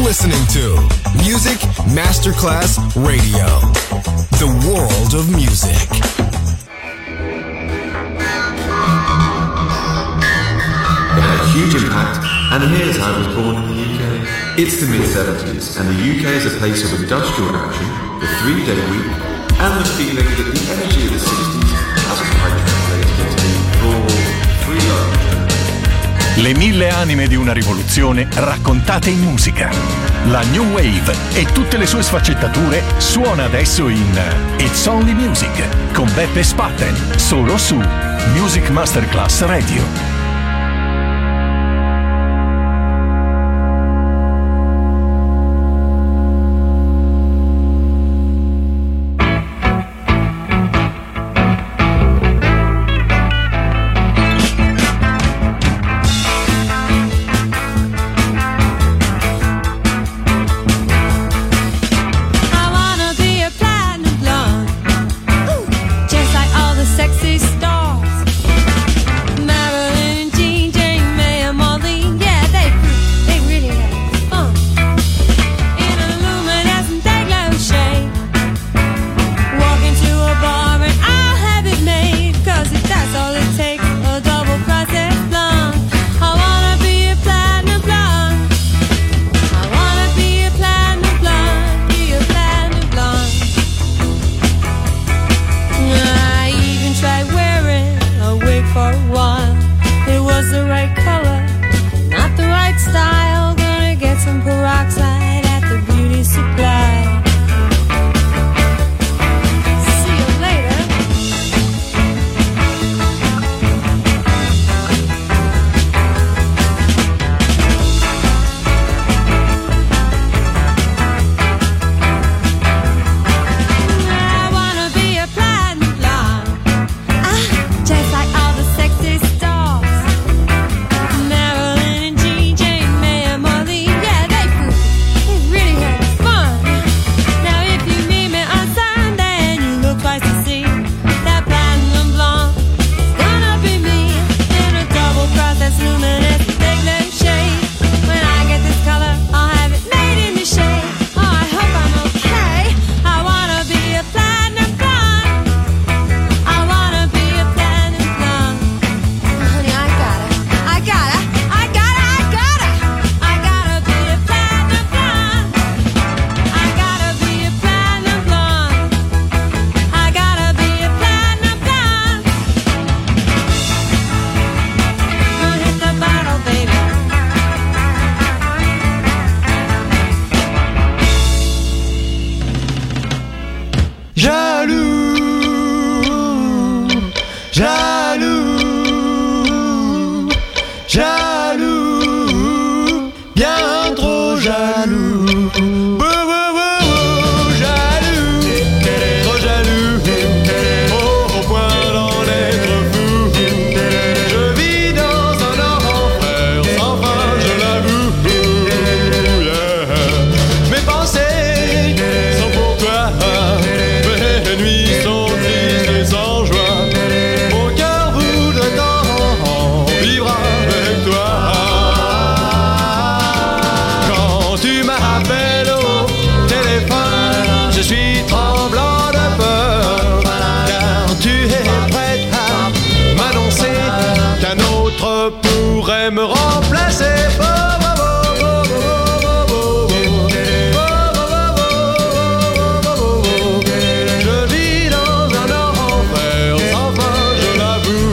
listening to Music Masterclass Radio, the world of music. It had a huge impact, and here's how it was born in the UK. It's the mid-70s, and the UK is a place of industrial action, the 3-day week, and the feeling that the energy of the 60s hasn't quite translated into raw, free love. Le 1000 anime di una rivoluzione raccontate in musica. La New Wave e tutte le sue sfaccettature suona adesso in It's Only Music con Beppe Spatten, solo su Music Masterclass Radio. Me remplacer. Je vis dans un enfer sans fin, je l'avoue.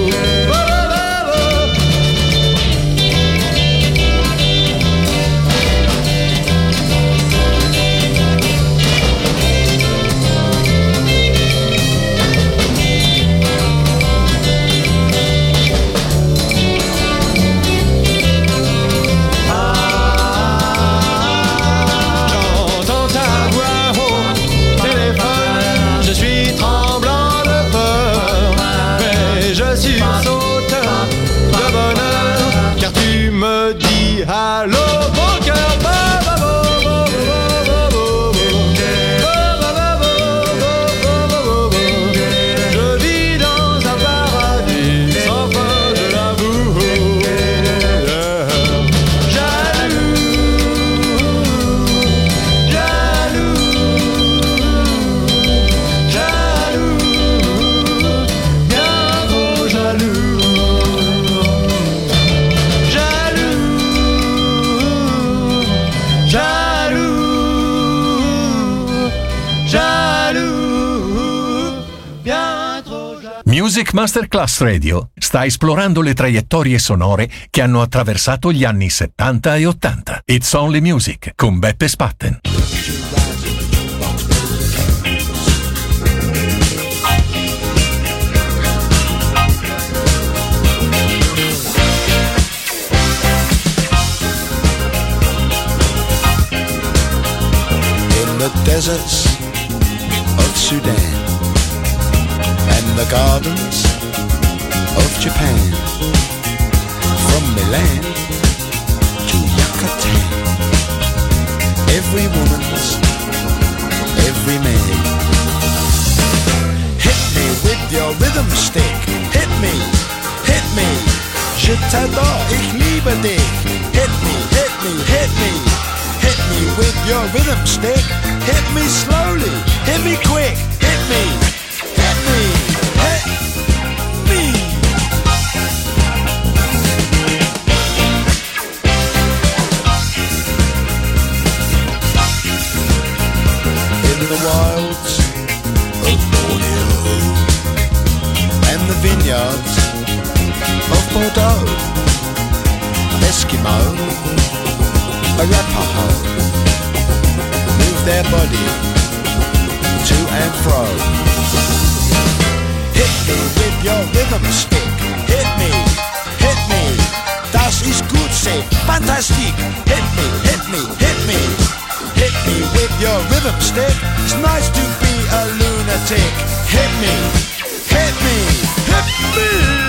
Allô mon cœur, je vis dans un paradis sans fin, je l'avoue. Jaloux, Music Masterclass Radio sta esplorando le traiettorie sonore che hanno attraversato gli anni 70 e 80. It's Only Music con Beppe Spatten. In the deserts of Sudan and the gardens of Japan, from Milan to Yucatan, every woman's, every man. Hit me with your rhythm stick, hit me, je t'adore, ich liebe dich. Hit me, hit me, hit me, hit me with your rhythm stick. Hit me slowly, hit me quick, hit me, hit me, hit me. In the wilds of Borneo and the vineyards of Bordeaux, Eskimo, Arapaho, move their body to and fro. Hit me with your rhythm stick, hit me, das ist gut, say, fantastic. Hit me, hit me, hit me, hit me with your rhythm stick. It's nice to be a lunatic. Hit me, hit me, hit me.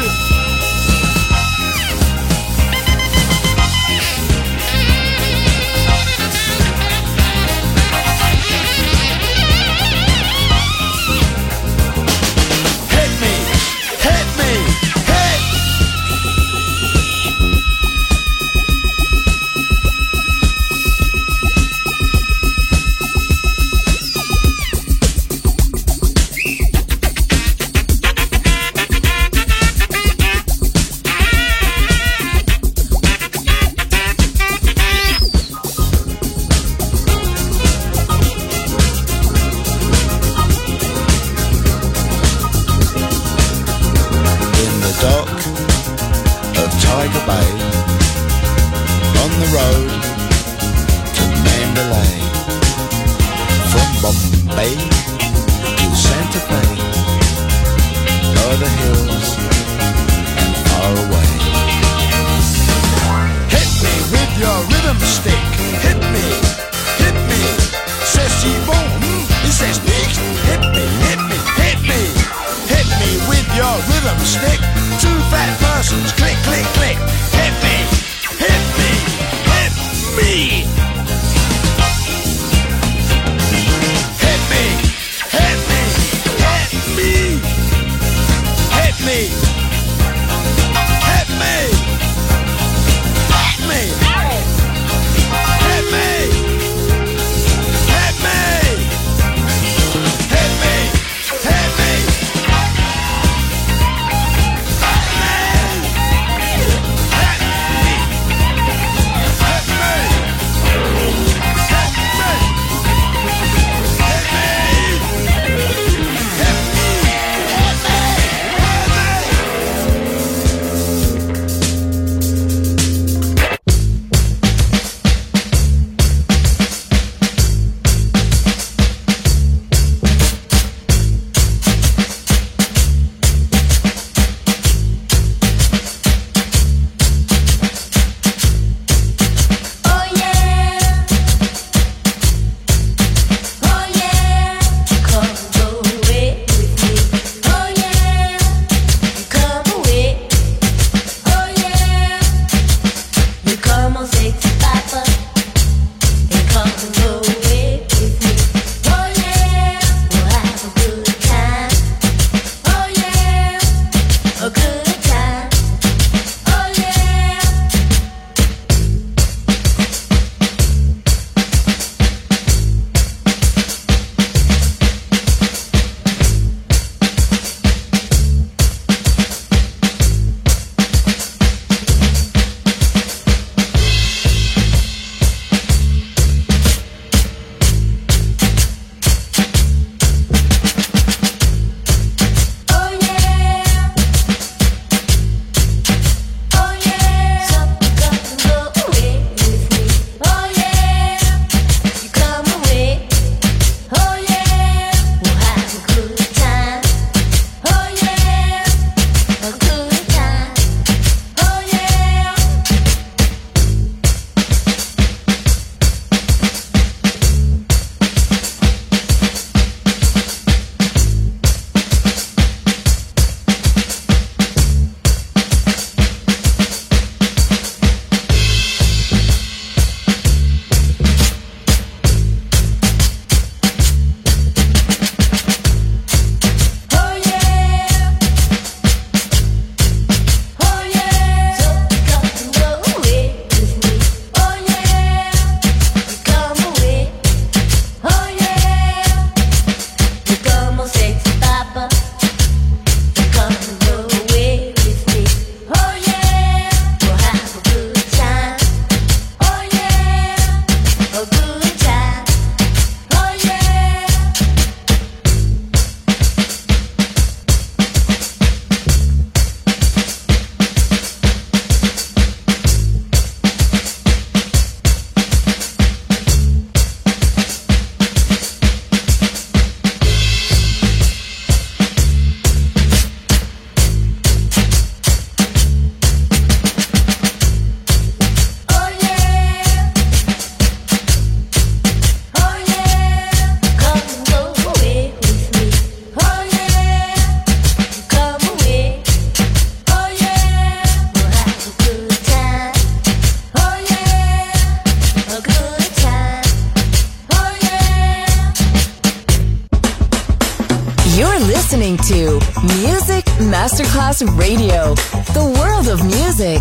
listening to Music Masterclass Radio, the world of music.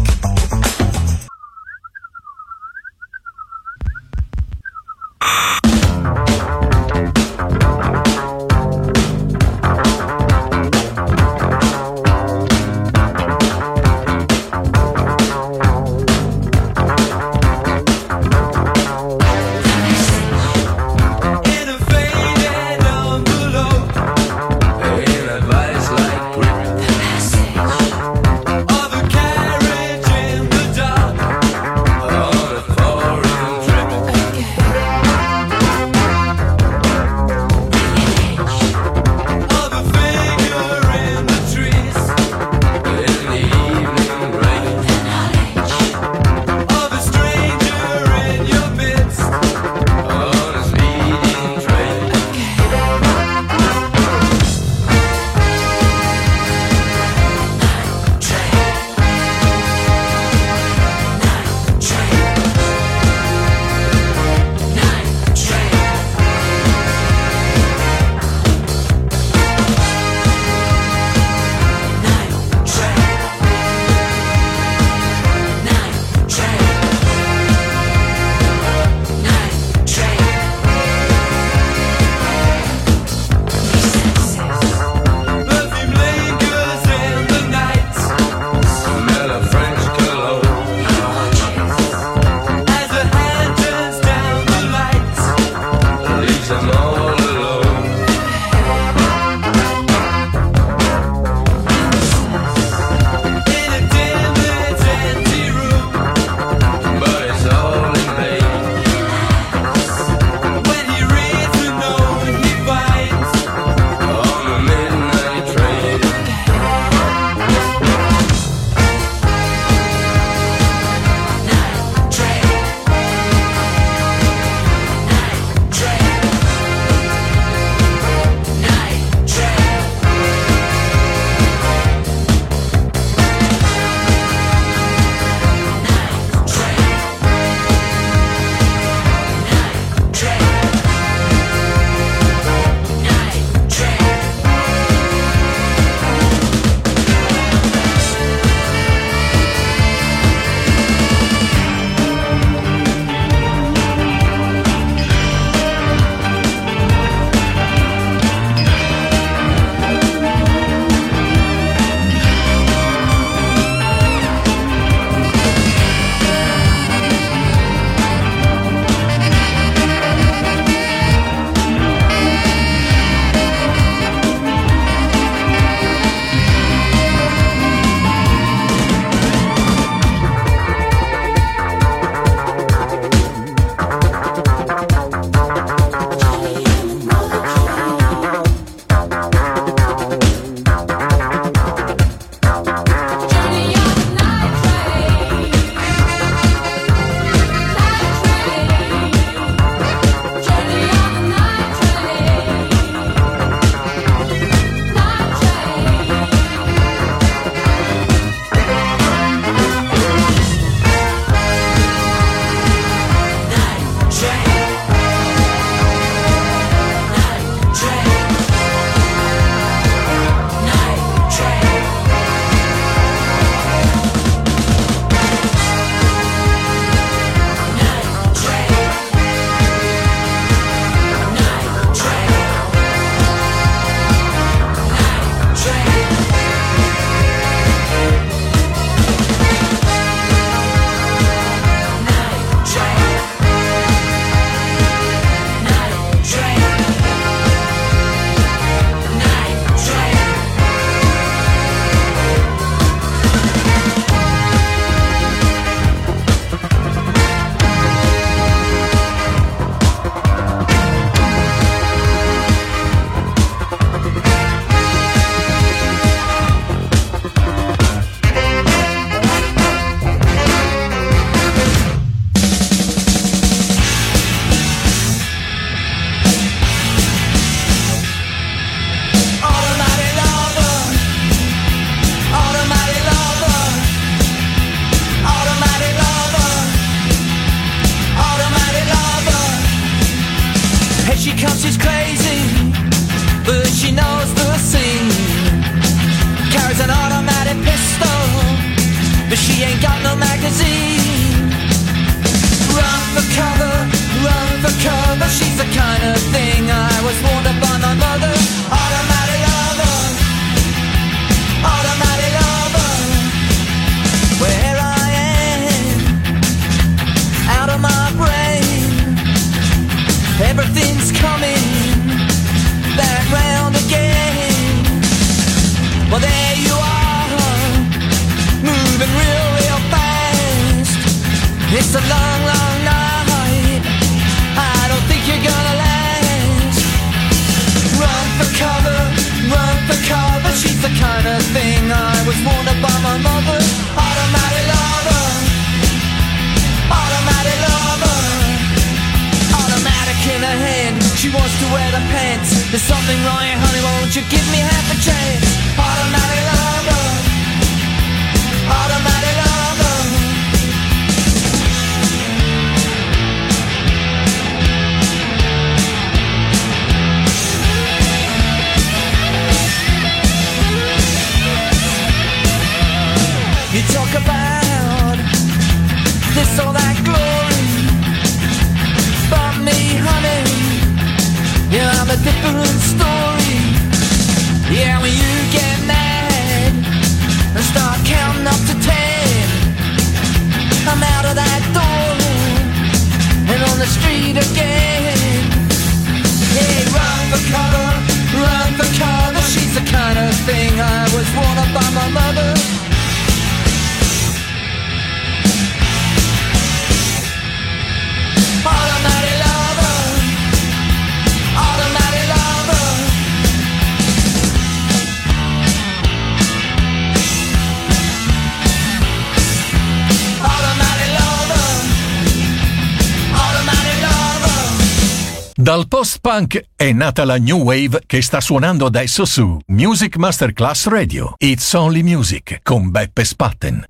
Of a carriage in the It's a long, long night. I don't think you're gonna last. Run for cover. She's the kind of thing I was warned by my mother. Automatic lover. Automatic lover. Automatic in her hand. She wants to wear the pants. There's something wrong here, honey. Won't you give me half a chance? Automatic lover. Automatic lover. You talk about this or that glory, but me, honey, yeah, I'm a different story. Yeah, when you get mad and start counting up to 10, I'm out of that door and on the street again. Yeah, run for cover. She's the kind of thing I was warned by my mother. Automatic lover. Automatic lover. Automatic lover. Automatic lover. Dal post-punk è nata la New Wave che sta suonando adesso su Music Masterclass Radio. It's Only Music con Beppe Spatten.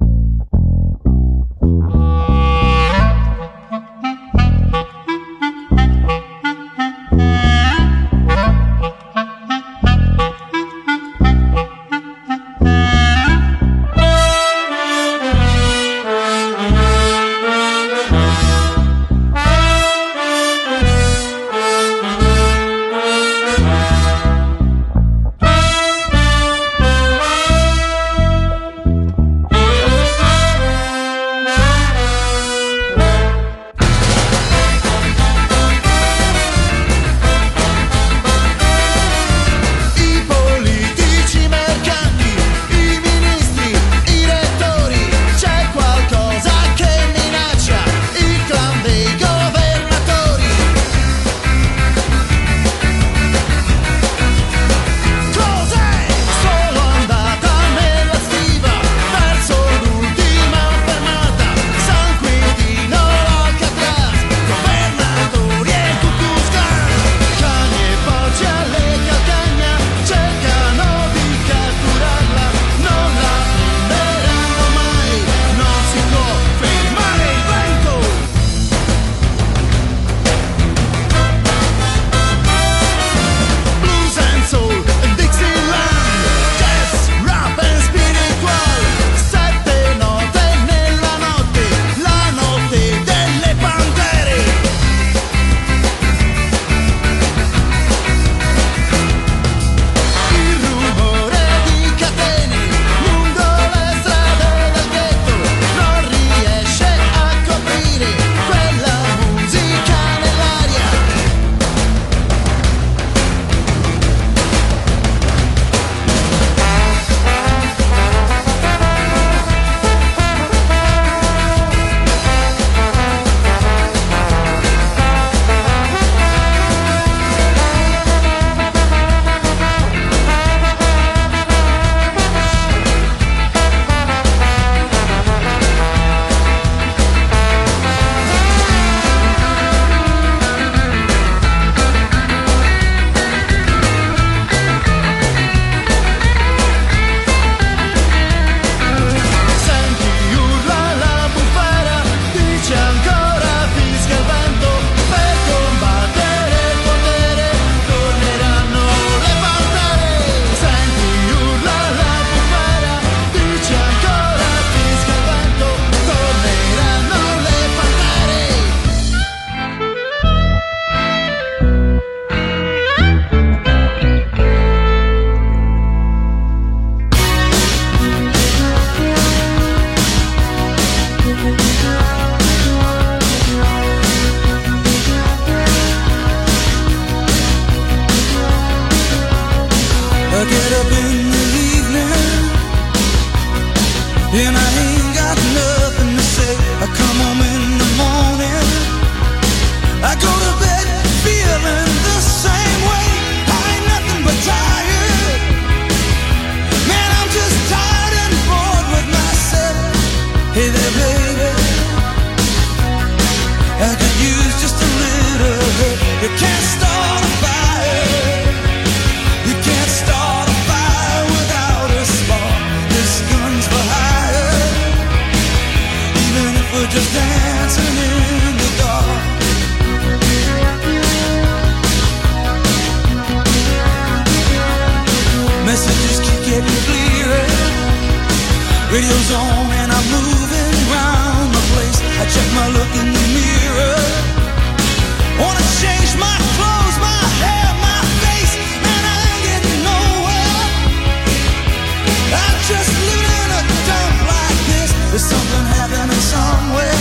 goes on and I'm moving around the place. I check my look in the mirror. Wanna change my clothes, my hair, my face, and I ain't getting nowhere. I'm just living in a dump like this. There's something happening somewhere.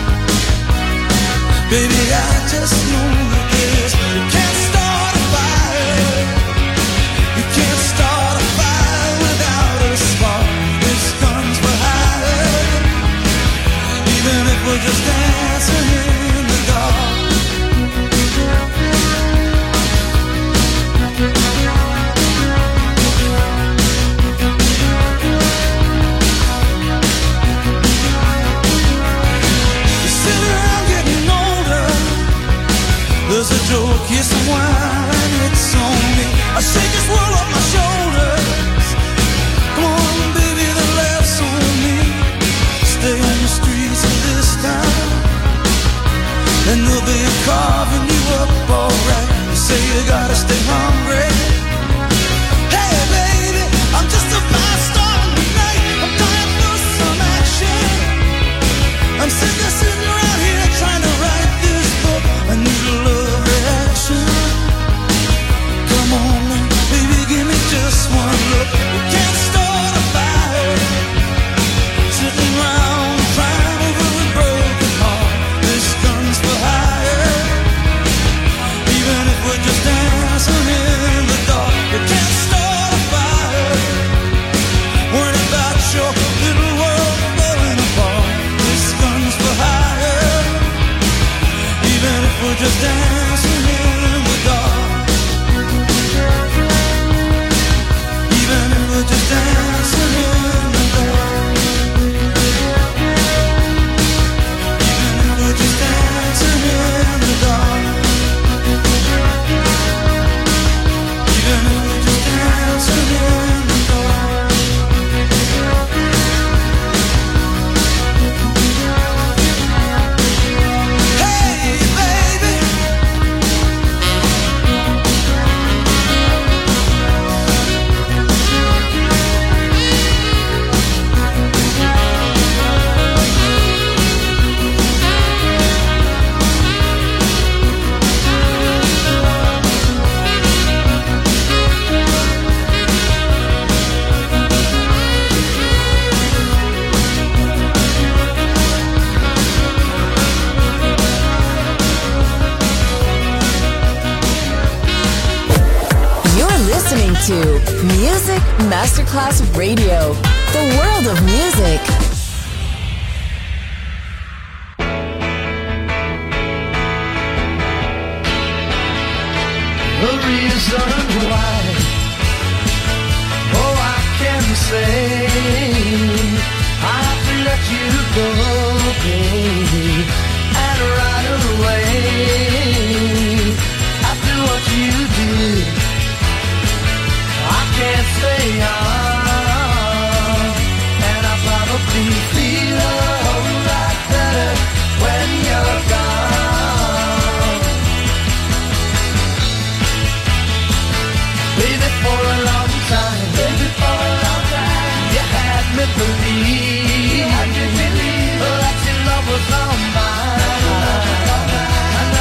Baby, I just know that this. You can't start a fire. You can't start a fire without a spark. This gun's for hire. Even if we're just dancing in the dark. There's a joke, here's some wine, it's on me. I shake this world off my shoulders. Come on, baby, the laughs on me. Stay on the streets of this town, and they'll be carving you up alright. They say you gotta stay hungry. Hey, baby, I'm just a fast star tonight. I'm dying for some action. I'm sitting around here trying to write this book. I need a love reaction. Come on now, baby, give me just one look. We can't start a fire, sitting around crying over a broken heart. This gun's for hire. Even if we're just dancing in the dark, we can't start a fire. Worrying about your little world falling apart. This gun's for hire. Even if we're just dancing in the dark. Even if we're just dancing in the dark. Even if we're just dancing in the dark. Even if we're just dancing in the dark. Hey, baby. You're listening to Music Masterclass Radio, the world of music. The reason why, oh, I can say I have to let you go, baby, and right away, after what you did, I can't stay on, and I probably feel a whole lot better when you're gone. Baby, for a long time, you had me believe that your love was all mine. And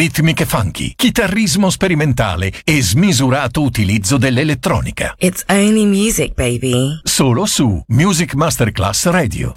ritmiche funky, chitarrismo sperimentale e smisurato utilizzo dell'elettronica. It's only music, baby. Solo su Music Masterclass Radio.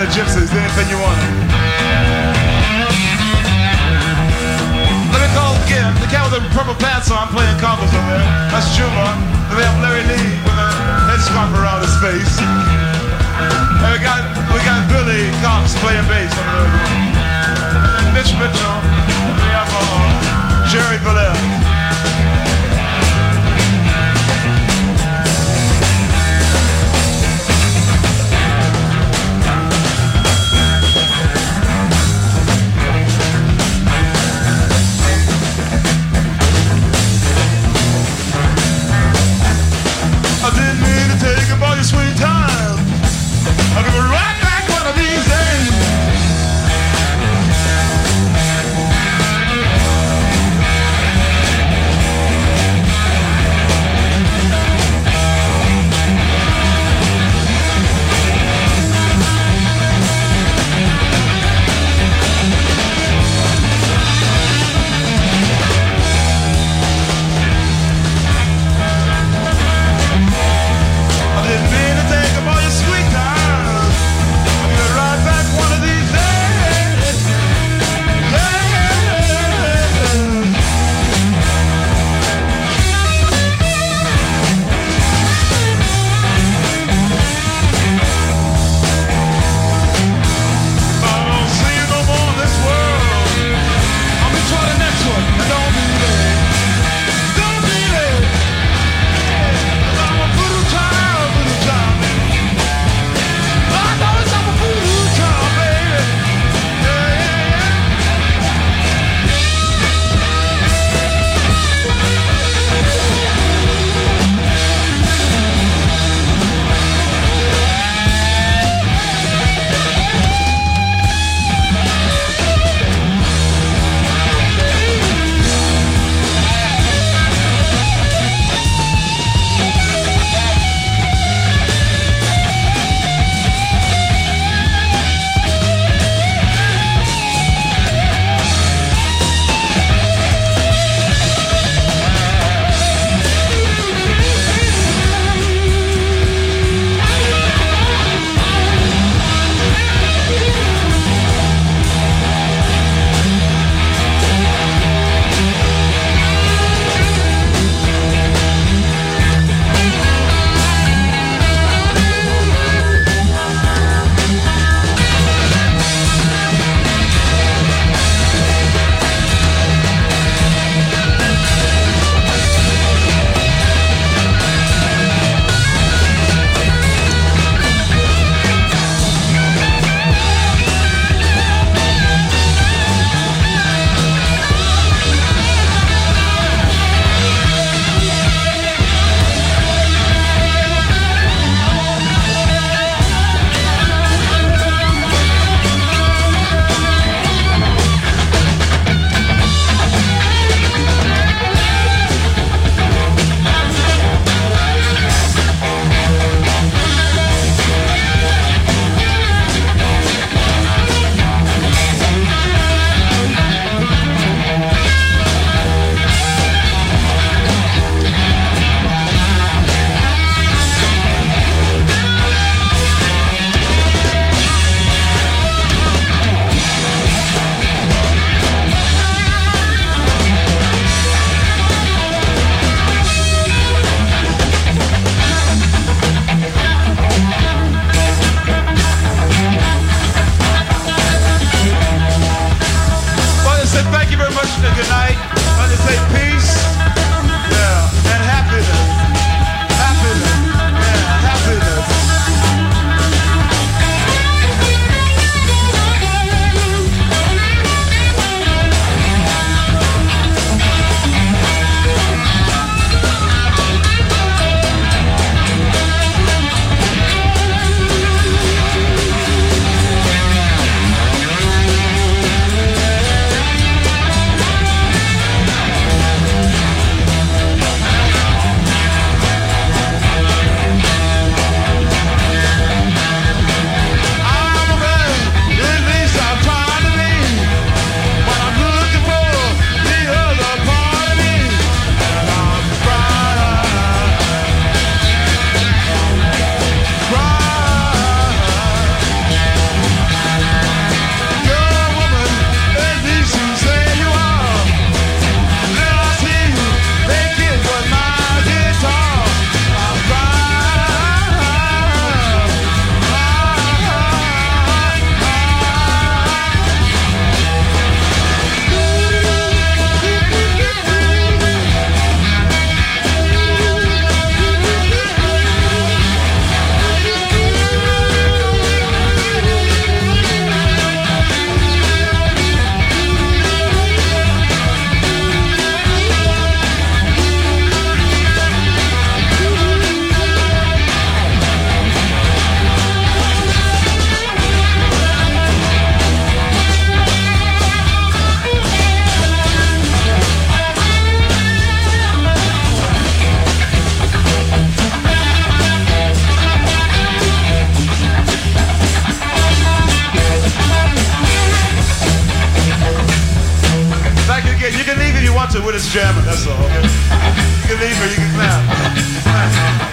the Gypsies, anything you want. Let me call again, the cat with the purple pants on playing congas over there. That's Juma. Then we have Larry Lee with a headscarf around his face. And we got Billy Cox playing bass over there. And then Mitch Mitchell. And we have Jerry Bellel. I didn't mean to take up all your sweet time. I'll be right back one of these days. that's all. You can leave or you can clap.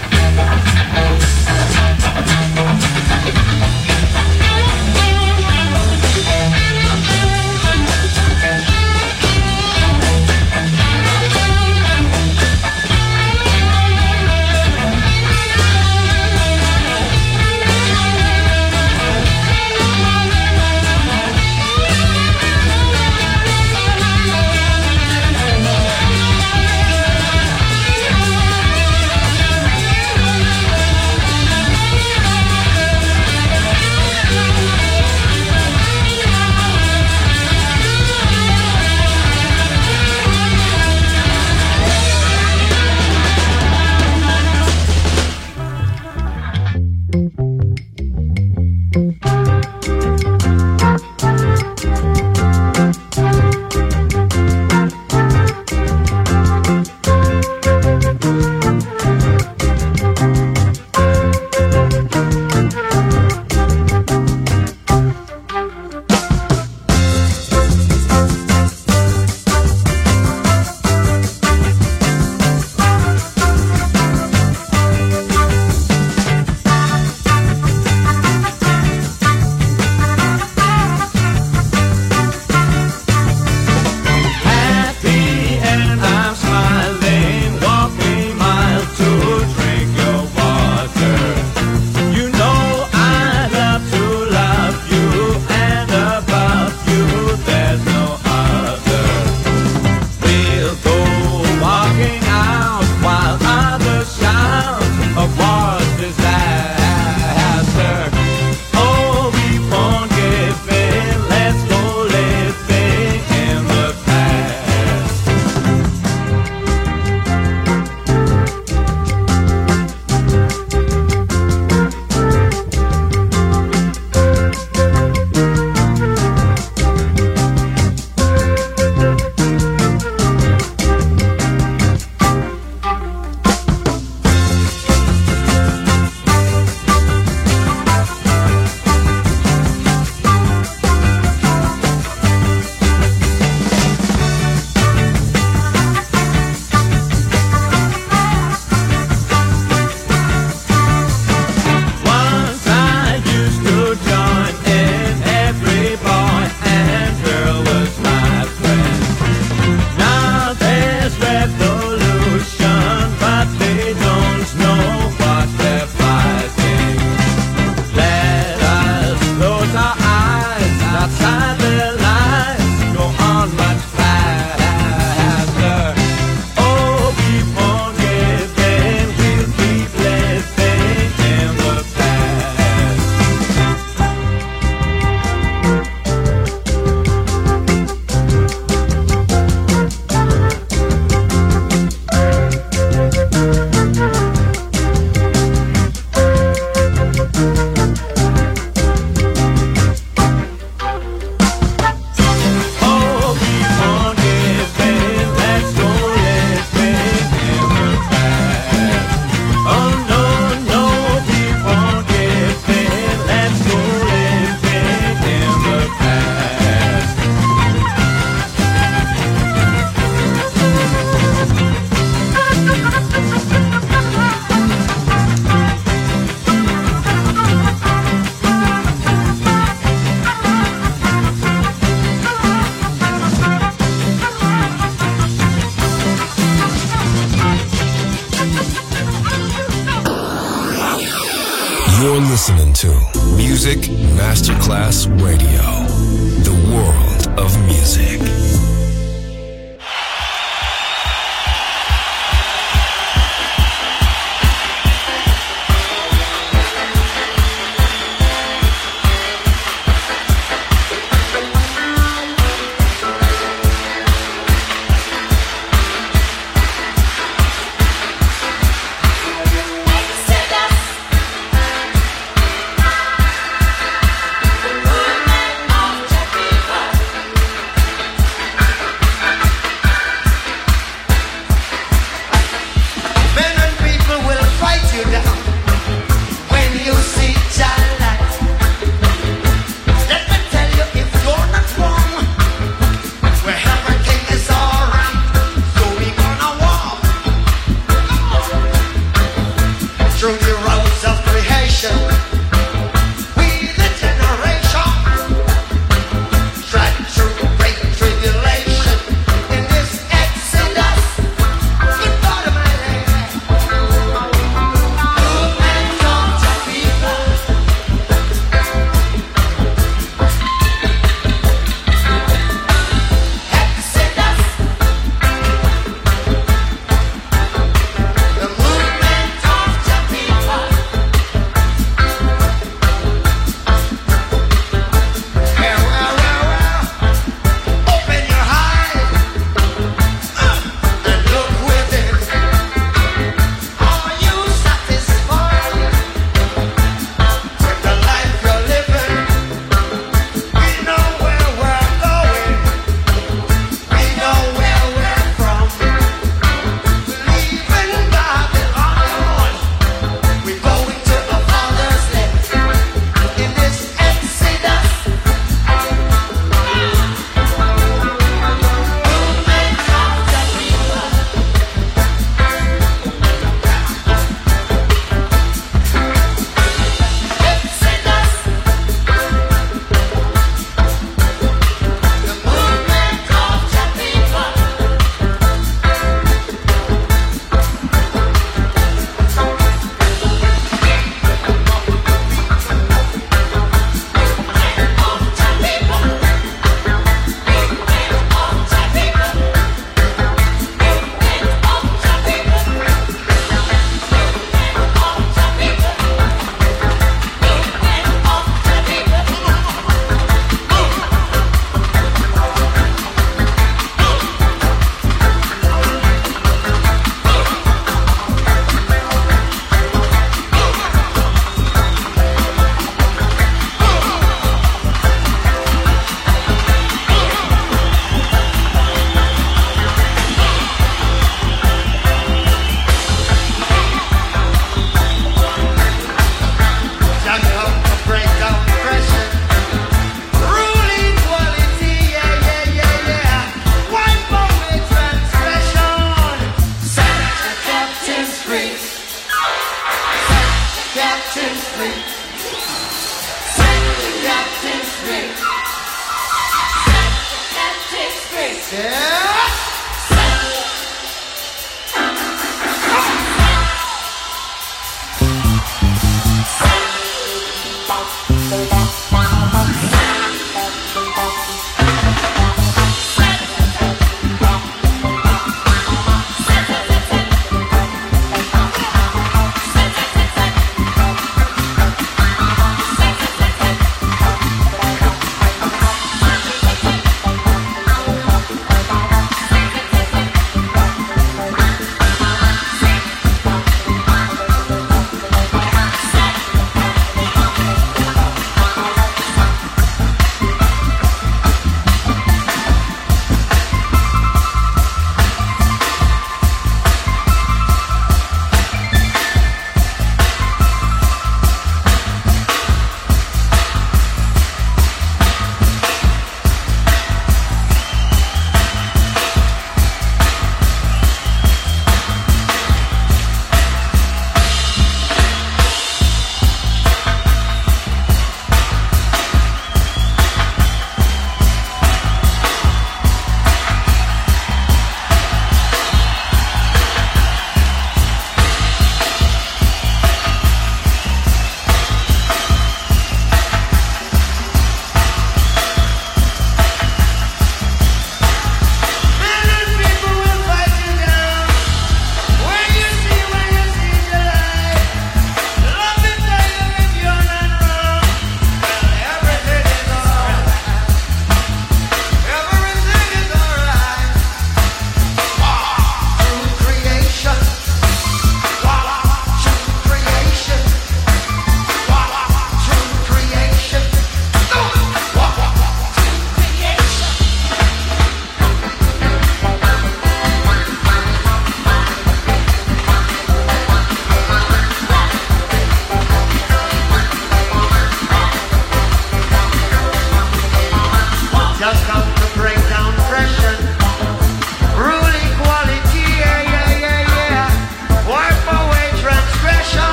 You're listening to Music Masterclass Radio, the world of music.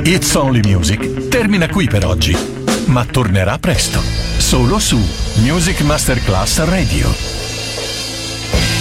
It's Only Music termina qui per oggi, ma tornerà presto, solo su Music Masterclass Radio.